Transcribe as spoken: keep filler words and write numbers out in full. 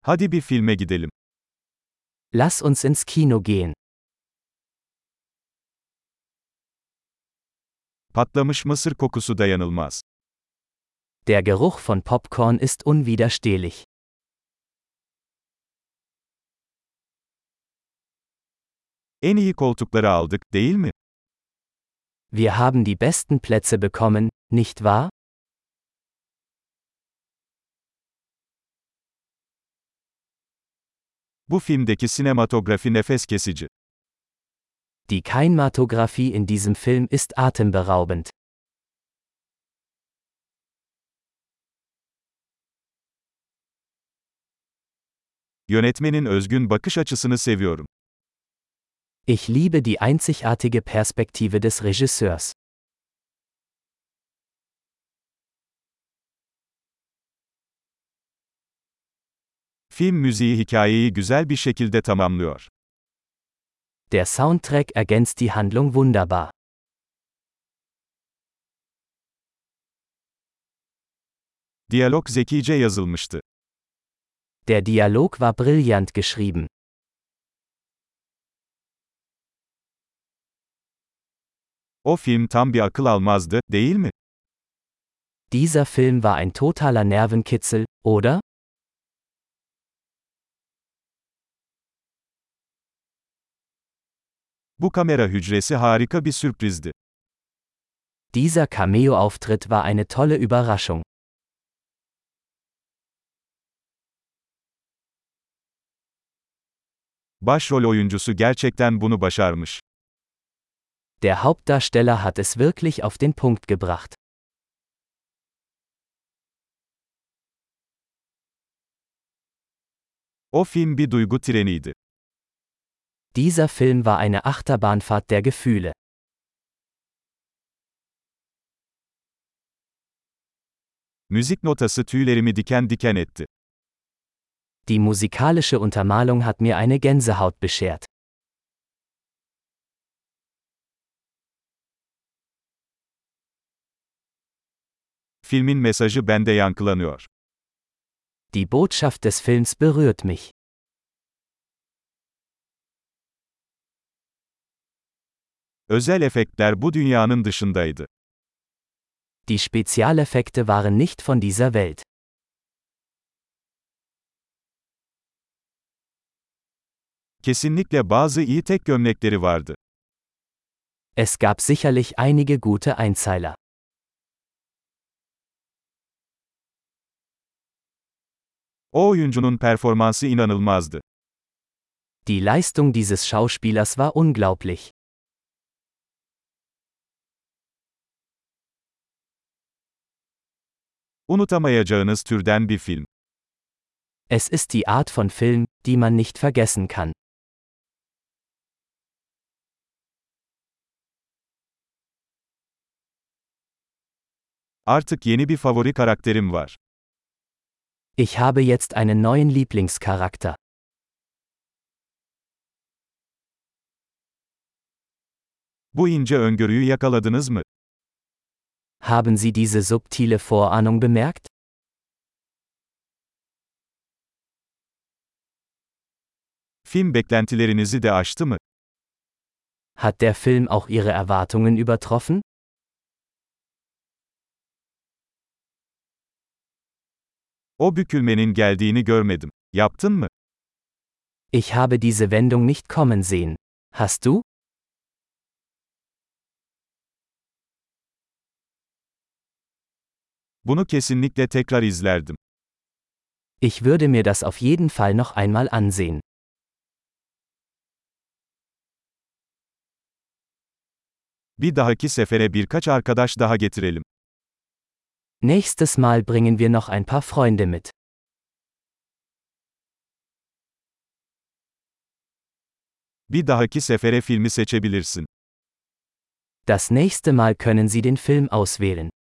Hadi bir filme gidelim. Lass uns ins Kino gehen. Patlamış mısır kokusu dayanılmaz. Der Geruch von Popcorn ist unwiderstehlich. En iyi koltukları aldık, değil mi? Wir haben die besten Plätze bekommen, nicht wahr? Bu filmdeki sinematografi nefes kesici. Die Kinematographie in diesem Film ist atemberaubend. Yönetmenin özgün bakış açısını seviyorum. Ich liebe die einzigartige Perspektive des Regisseurs. Film müziği hikayeyi güzel bir şekilde tamamlıyor. Der Soundtrack ergänzt die Handlung wunderbar. Diyalog zekice yazılmıştı. Der Dialog war brillant geschrieben. O film tam bir akıl almazdı, değil mi? Dieser Film war ein totaler Nervenkitzel, oder? Bu kamera hücresi harika bir sürprizdi. Dieser Cameo-Auftritt war eine tolle Überraschung. Başrol oyuncusu gerçekten bunu başarmış. Der Hauptdarsteller hat es wirklich auf den Punkt gebracht. O film bir duygu treniydi. Dieser Film war eine Achterbahnfahrt der Gefühle. Müzik notası tüylerimi diken diken etti. Die musikalische Untermalung hat mir eine Gänsehaut beschert. Filmin mesajı bende yankılanıyor. Die Botschaft des Films berührt mich. Özel efektler bu dünyanın dışındaydı. Die Spezialeffekte waren nicht von dieser Welt. Kesinlikle bazı iyi tek gömlekleri vardı. Es gab sicherlich einige gute Einzeiler. O oyuncunun performansı inanılmazdı. Die Leistung dieses Schauspielers war unglaublich. Unutamayacağınız türden bir film. Es ist die Art von Film, die man nicht vergessen kann. Artık yeni bir favori karakterim var. Ich habe jetzt einen neuen Lieblingscharakter. Bu ince öngörüyü yakaladınız mı? Haben Sie diese subtile Vorahnung bemerkt? Film beklentilerinizi de aştı mı? Hat der Film auch Ihre Erwartungen übertroffen? O bükülmenin geldiğini görmedim. Yaptın mı? Ich habe diese Wendung nicht kommen sehen. Hast du? Bunu kesinlikle tekrar izlerdim. Ich würde mir das auf jeden Fall noch einmal ansehen. Bir dahaki sefere birkaç arkadaş daha getirelim. Nächstes Mal bringen wir noch ein paar Freunde mit. Bir dahaki sefere filmi seçebilirsin. Das nächste Mal können Sie den Film auswählen.